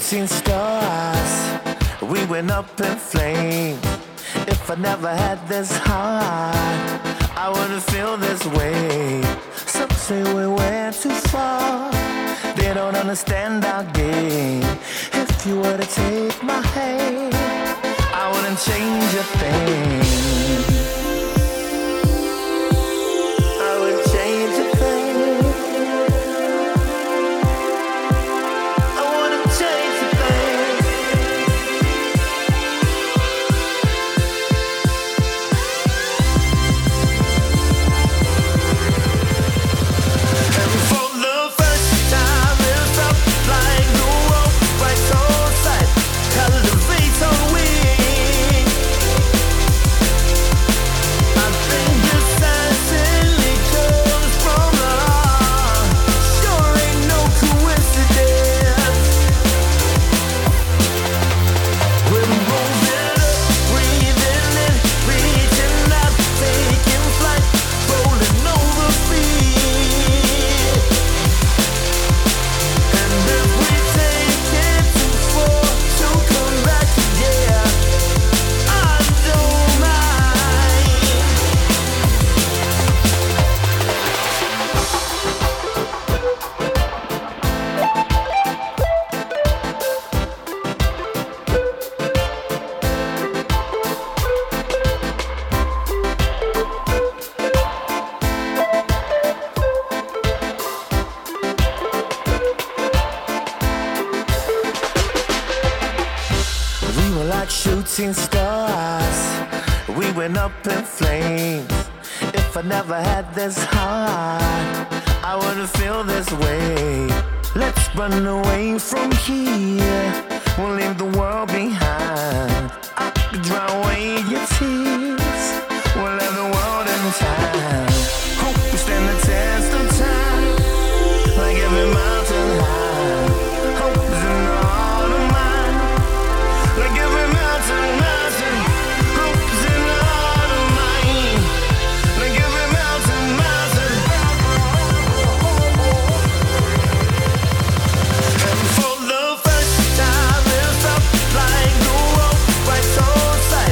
shooting stars, we went up in flames. If I never had this heart, I wouldn't feel this way. Some say we went too far, they don't understand our game. If you were to take my hand, I wouldn't change a thing. I wouldn't change a thing. I wouldn't change a thing. And for the first time, it felt like the world right so tight, elevates on wing. I think it certainly comes from the heart. Sure ain't no coincidence. We're moving up, breathing in, reaching out, taking flight, rolling over feet. And if we take it too far to come back again, I don't mind. We were like shooting stars, we went up in flames. If I never had this heart, I wouldn't feel this way. Let's run away from here, we'll leave the world behind. I could drown away your tears, we'll let the world in time. Hope we stand the test of time, like every mountain high. Hope is in the heart of mine, like every mountain, mountain. Hope is in the heart of mine, like every mountain, mountain. And for the first time, it felt like the world right so tight,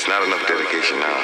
not enough dedication now.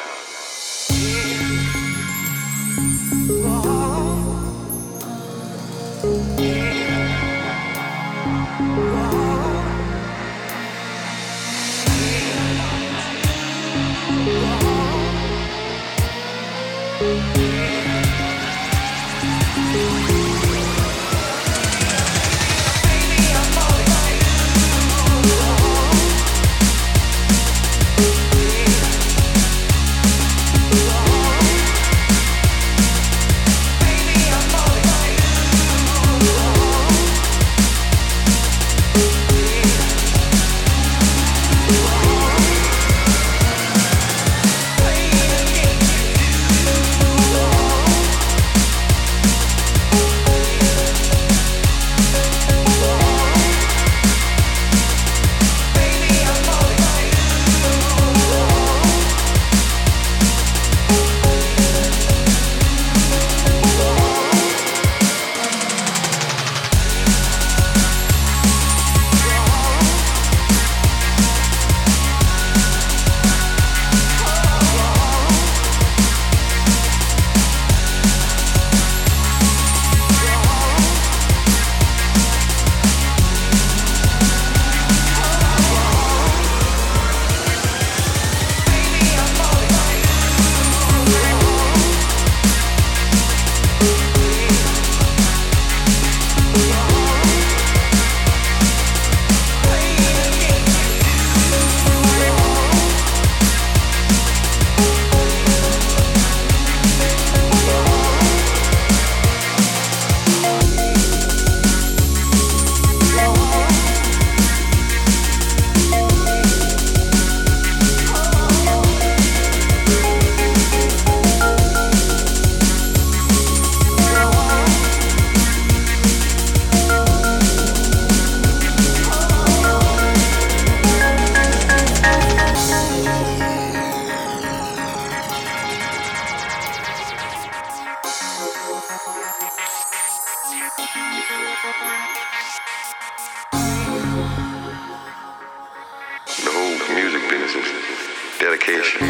The whole music business is dedication,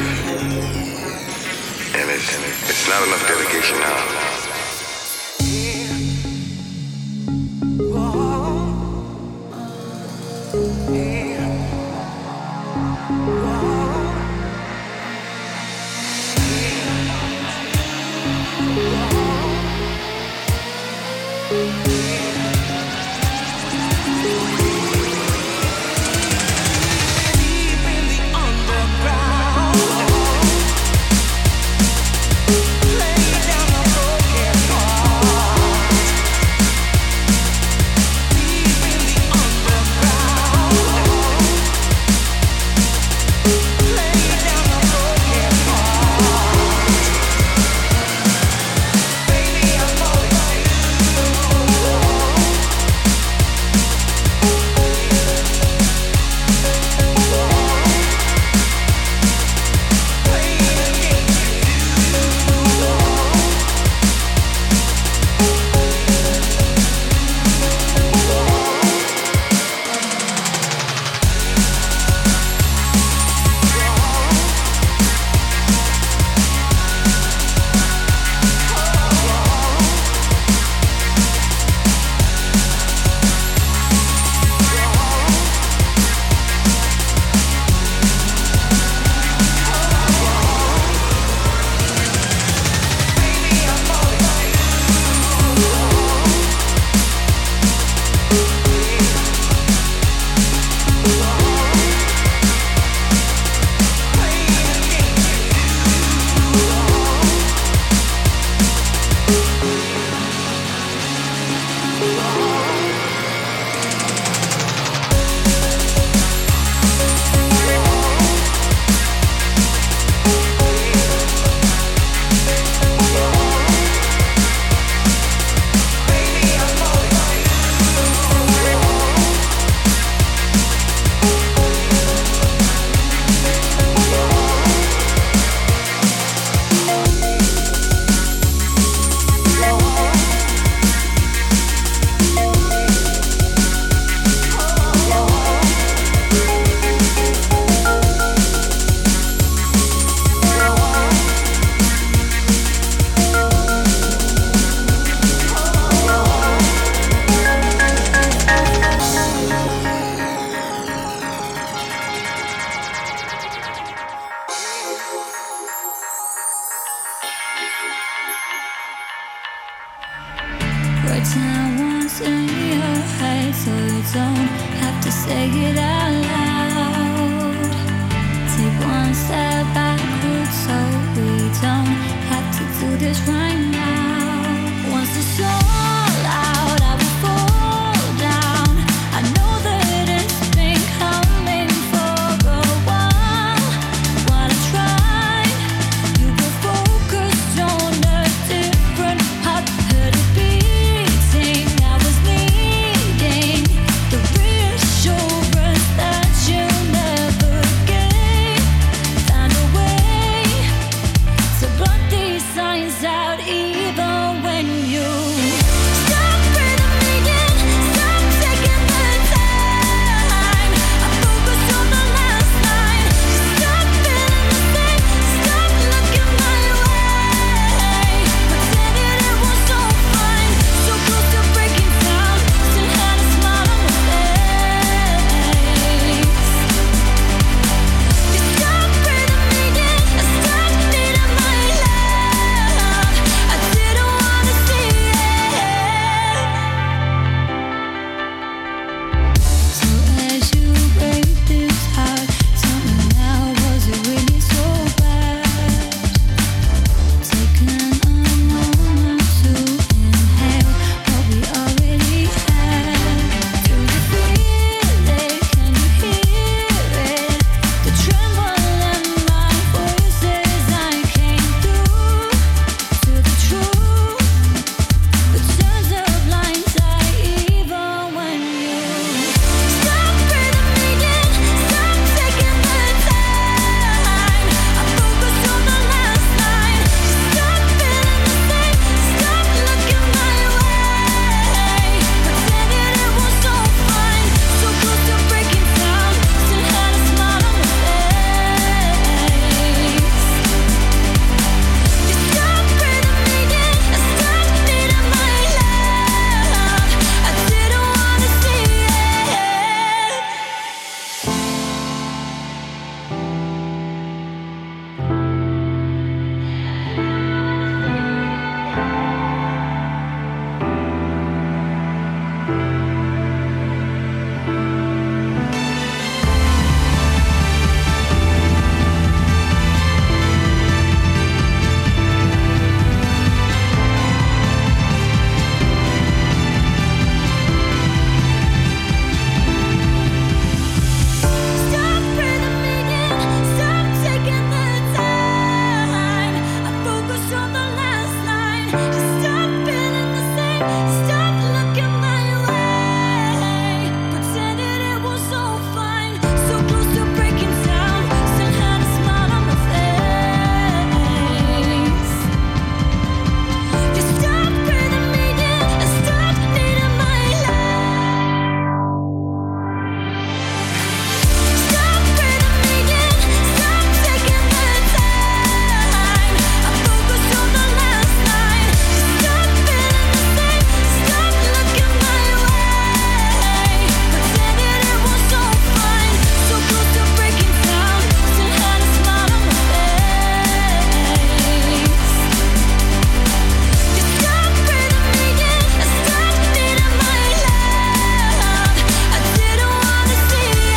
and it's not enough dedication now. so you don't have to say it out loud. Take one step backwards so we don't have to do this right now. Once the soul out, I will fall down. I know that it's been coming for a while. While I try, you were focused on a different heart. Heard it beating, I was needing the reassurance that you never gave. Found a way to block these signs out even when you stop breathing me in, stop taking the time. I focus on the last line. Stop feeling the same, stop looking my way. Pretended it was all fine, so close to breaking down. Still had a smile on my face. You stop breathing me in, I stopped needing my love. I didn't wanna see it. So as you break this heart, tell me now, was it really so bad? Taking a moment to inhale what we already had. Do you feel it? Can you hear it? The tremble in my voice as I came through to the truth. The turns of blind eye even when you stop breathing me in, stop taking the time. I focus on the last line. Stop feeling the same, stop looking my way. Pretended it was all fine, so close to breaking down. Still had a smile on my face. You stop breathing me in, I stopped needing my love. I didn't wanna see it. Stop breathing me in, stop taking the time. I focus on the last line. Stop feeling the same, stop looking my way. Pretended it was all fine, so close to breaking down. Still had a smile on my face. You stop breathing me in, I stopped needing my love. Stop breathing me in, stop taking the time. I focus on the last line. Stop feeling the same, stop looking my way. Pretended it was all fine, so close to breaking down. Still had a smile on my face. You stop breathing me in, I stopped needing my love. I didn't wanna see it.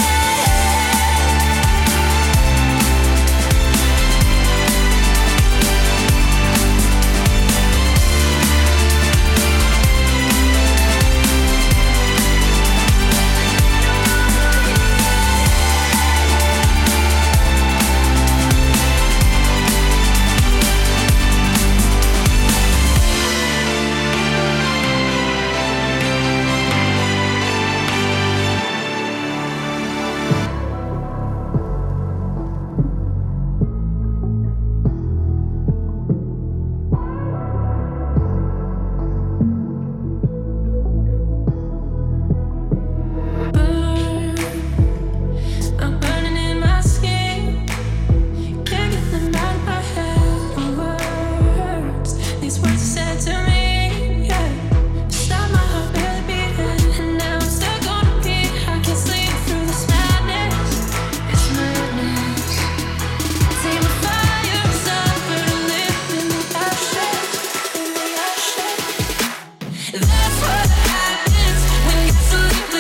I'm burning in my skin. Can't get them out of my head. Words, these words are said to me. Yeah, stop my heart barely beating, and now I'm stuck on repeat. I can't sleep through this madness. It's madness. See my fire is up, but I live in the ashes, in the ashes. That's what happens when you sleep.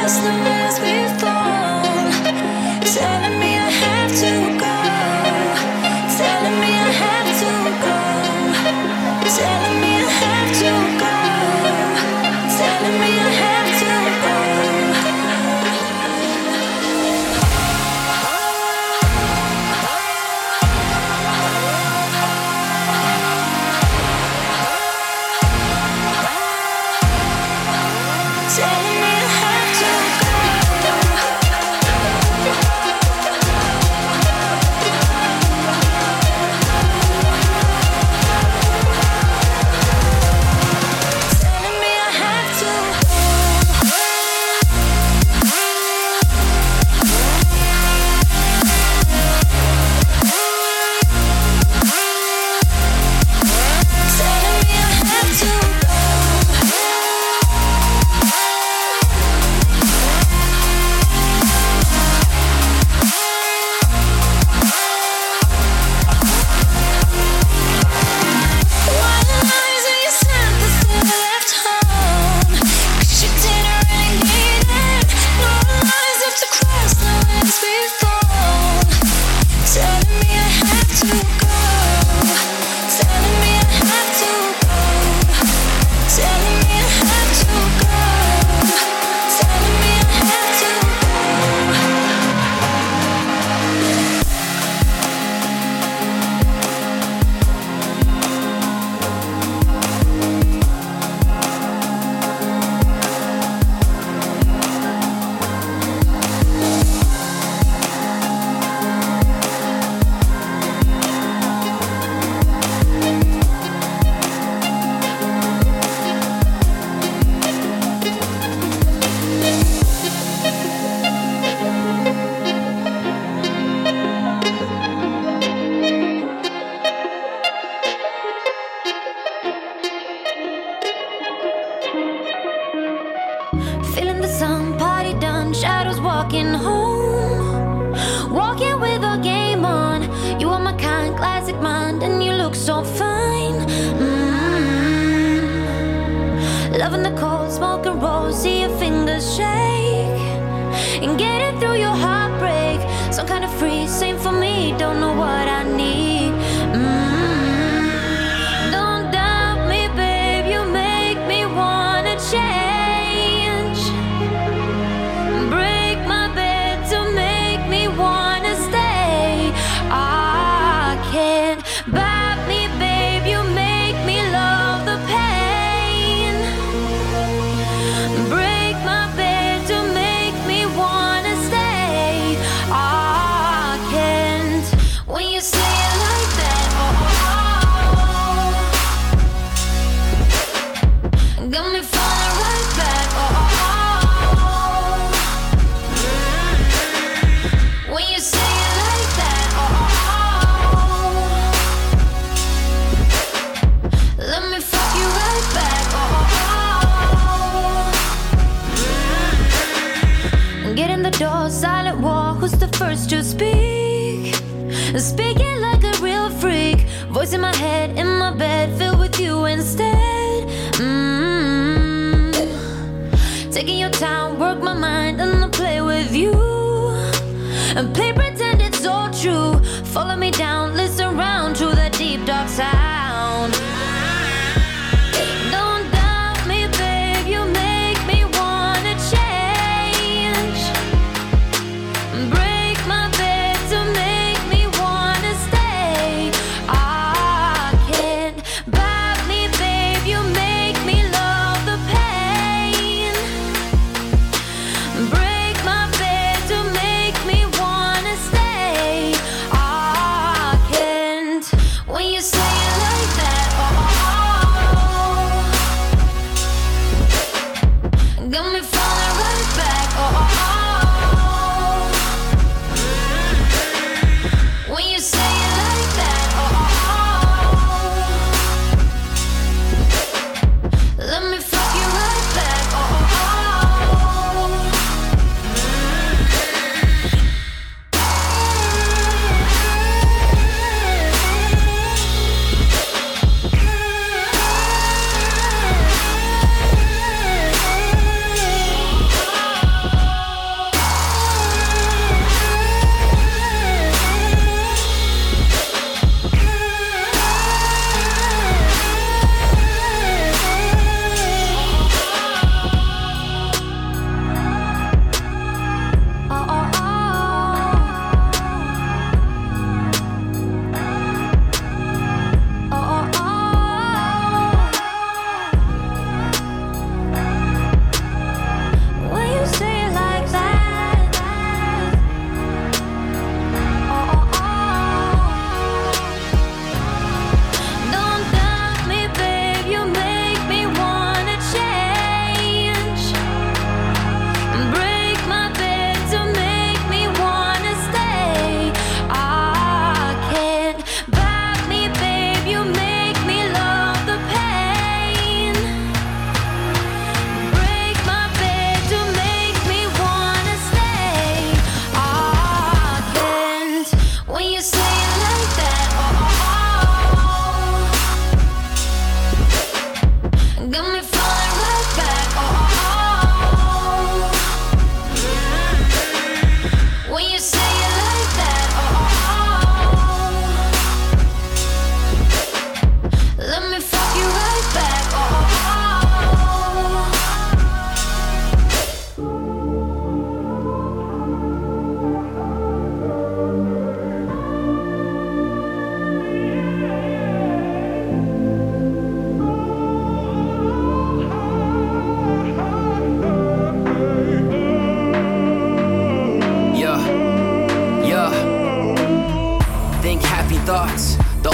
Break my bed to make me wanna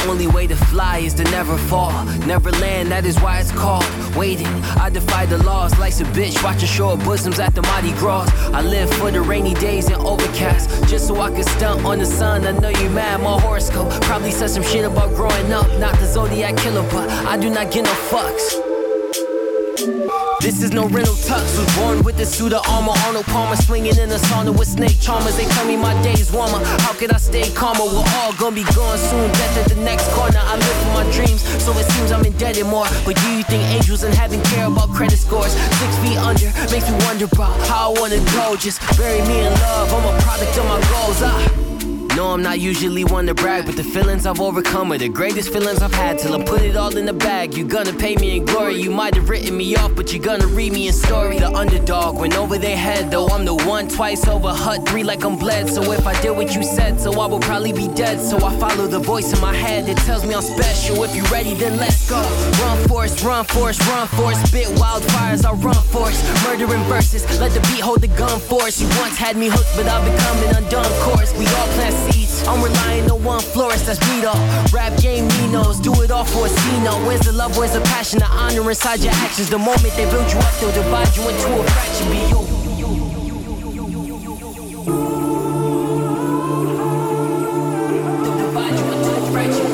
only way to fly is to never fall. Never land, that is why it's called waiting. I defy the laws, life's a bitch, watching shore bosoms at the Mardi Gras. I live for the rainy days and overcast, just so I can stunt on the sun. I know you mad, my horoscope probably said some shit about growing up. Not the Zodiac killer, but I do not get no fucks. This is no rental tux. Was born with the suit of armor. Arnold Palmer swinging in a sauna with snake charmers. They tell me my day's warmer. How could I stay calmer? We're all gonna be gone soon. Death at the next corner. I live for my dreams, so it seems I'm indebted more. But do you think angels and heaven care about credit scores? 6 feet under makes me wonder about how I wanna go. Just bury me in love. I'm a product of my goals. No, I'm not usually one to brag, but the feelings I've overcome are the greatest feelings I've had. Till I put it all in the bag. You're gonna pay me in glory. You might have written me off, but you're gonna read me in story. The underdog went over their head, though I'm the one twice over. Hut 3 like I'm bled. So if I did what you said, so I will probably be dead. So I follow the voice in my head that tells me I'm special. If you ready, then let's go. Run force, run force, run force. Spit wildfires, I'll run force. Murdering verses, let the beat hold the gun force. You once had me hooked, but I've become an undone course. We all plant seeds, I'm relying on one florist, that's me though. Rap game, me knows, do it all for a C-no. Where's the love, where's the passion, the honor inside your actions? The moment they build you up, they'll divide you into a fraction. Be you. They'll divide you into a fraction.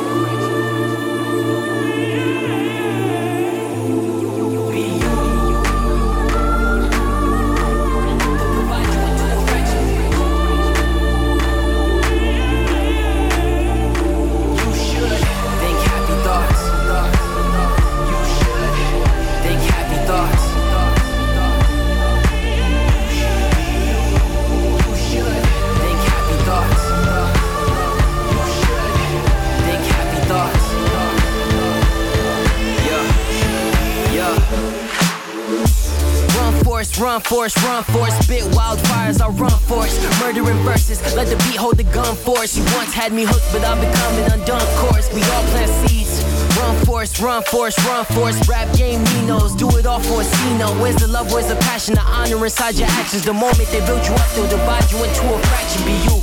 Run force, run force, spit wildfires, I'll run force. Murdering verses, let the beat hold the gun force. You once had me hooked, but I've become an undone course. We all plant seeds. Run force, run force, run force. Rap game, me knows, do it all for a C-no. Where's the love, where's the passion, the honor inside your actions? The moment they build you up, they'll divide you into a fraction. Be you.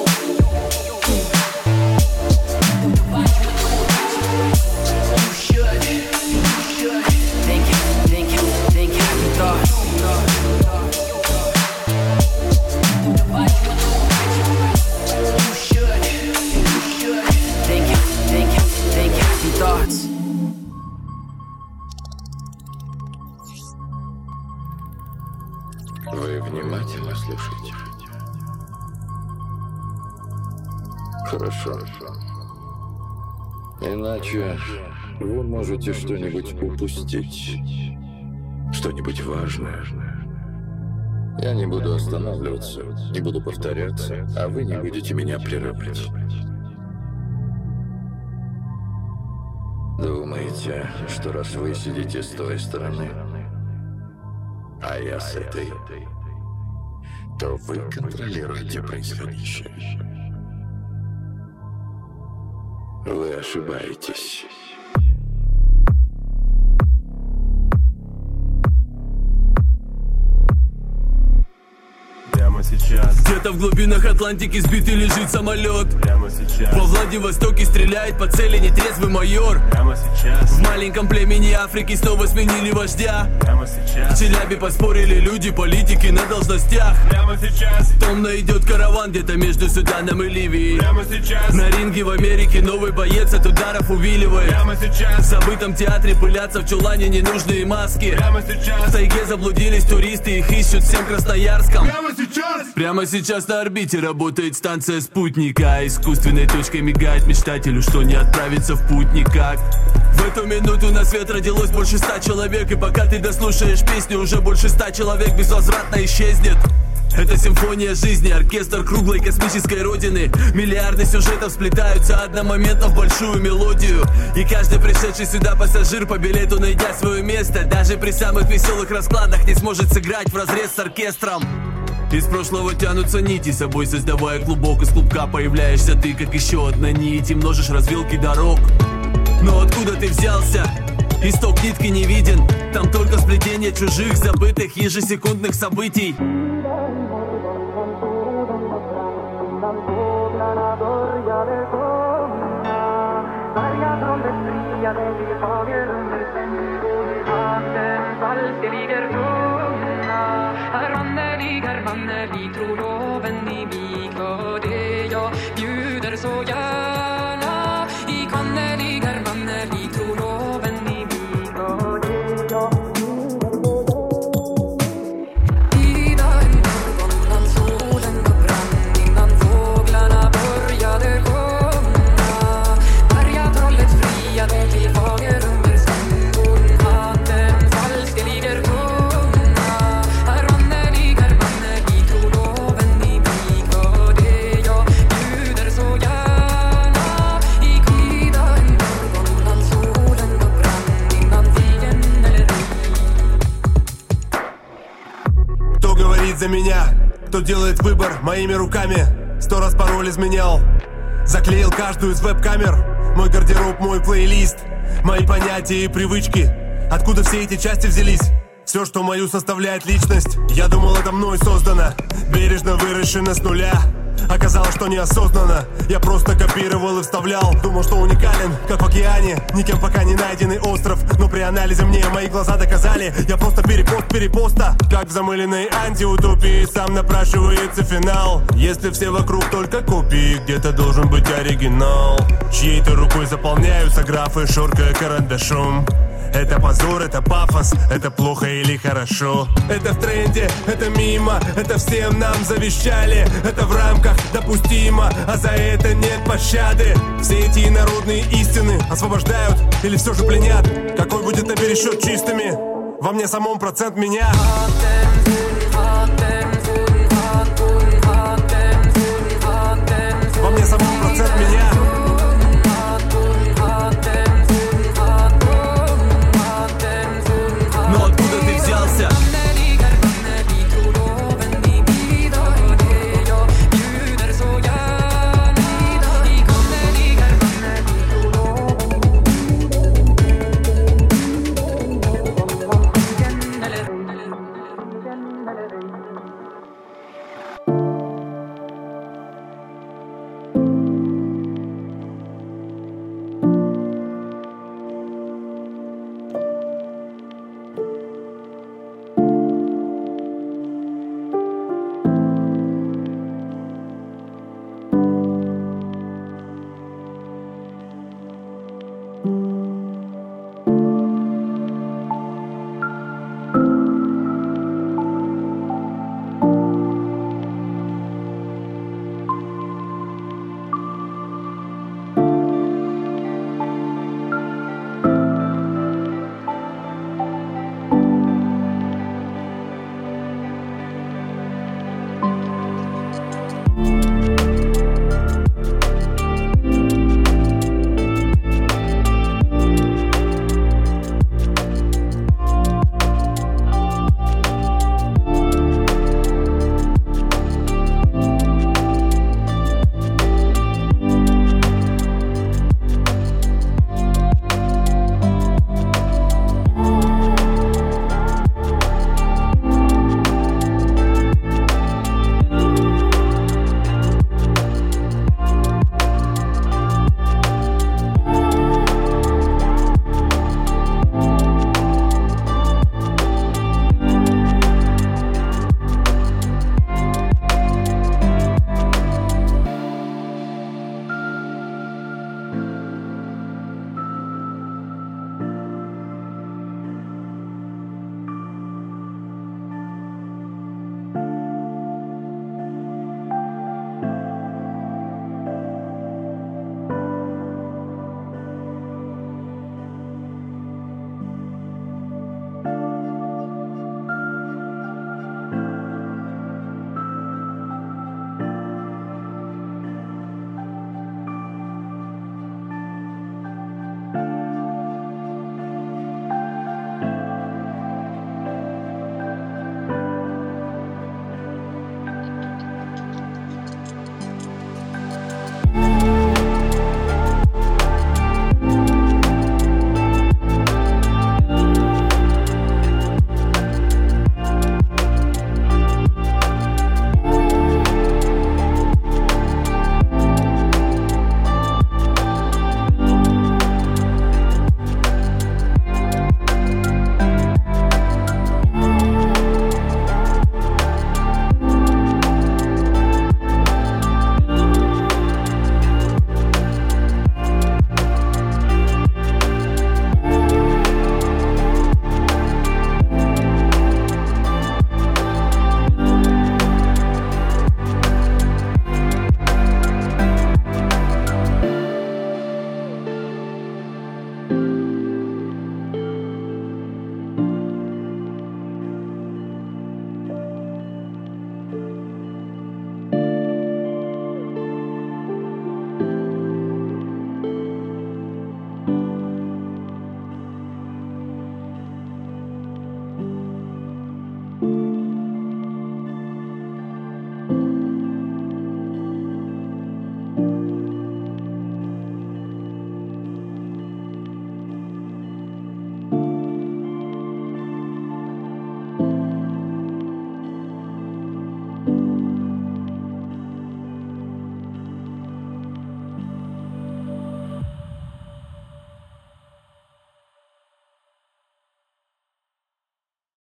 Вы внимательно слушаете? Хорошо. Иначе вы можете что-нибудь упустить. Что-нибудь важное. Я не буду останавливаться, не буду повторяться, а вы не будете меня прерывать. Думаете, что раз вы сидите с той стороны, а я с этой, то вы контролируете происходящее? Вы ошибаетесь. Где-то в глубинах Атлантики сбитый лежит самолет. Прямо сейчас. Во Владивостоке стреляет по цели нетрезвый майор. Прямо сейчас. В маленьком племени Африки снова сменили вождя. Прямо сейчас. В Челябе поспорили люди, политики на должностях. Прямо сейчас. Томно идет караван где-то между Суданом и Ливией. Прямо сейчас. На ринге в Америке новый боец от ударов увиливает. Прямо сейчас. В забытом театре пылятся в чулане ненужные маски. Прямо сейчас. В тайге заблудились туристы, их ищут всем Красноярском. Прямо сейчас. Прямо сейчас на орбите работает станция спутника. Искусственной точкой мигает мечтателю, что не отправится в путь никак. В эту минуту на свет родилось больше 100 человек. И пока ты дослушаешь песню, уже больше 100 человек безвозвратно исчезнет. Это симфония жизни, оркестр круглой космической родины. Миллиарды сюжетов сплетаются одномоментно в большую мелодию. И каждый пришедший сюда пассажир по билету, найдя свое место, даже при самых веселых раскладах не сможет сыграть вразрез с оркестром. Из прошлого тянутся нити, собой создавая клубок. Из клубка появляешься ты, как еще одна нить, и множишь развилки дорог. Но откуда ты взялся? Исток нитки не виден. Там только сплетение чужих, забытых ежесекундных событий. За меня, кто делает выбор моими руками. 100 раз пароль изменял, заклеил каждую из веб-камер. Мой гардероб, мой плейлист, мои понятия и привычки. Откуда все эти части взялись? Все, что мою составляет личность. Я думал, это мной создано, бережно выращено с нуля. Оказалось, что неосознанно я просто копировал и вставлял. Думал, что уникален, как в океане, никем пока не найденный остров. Но при анализе мне мои глаза доказали, я просто перепост перепоста. Как в замыленной антиутопии сам напрашивается финал. Если все вокруг только копии, где-то должен быть оригинал. Чьей-то рукой заполняются графы, шоркая карандашом. Это позор, это пафос, это плохо или хорошо. Это в тренде, это мимо, это всем нам завещали. Это в рамках допустимо, а за это нет пощады. Все эти инородные истины освобождают или все же пленят? Какой будет на пересчет чистыми? Во мне самом процент меня.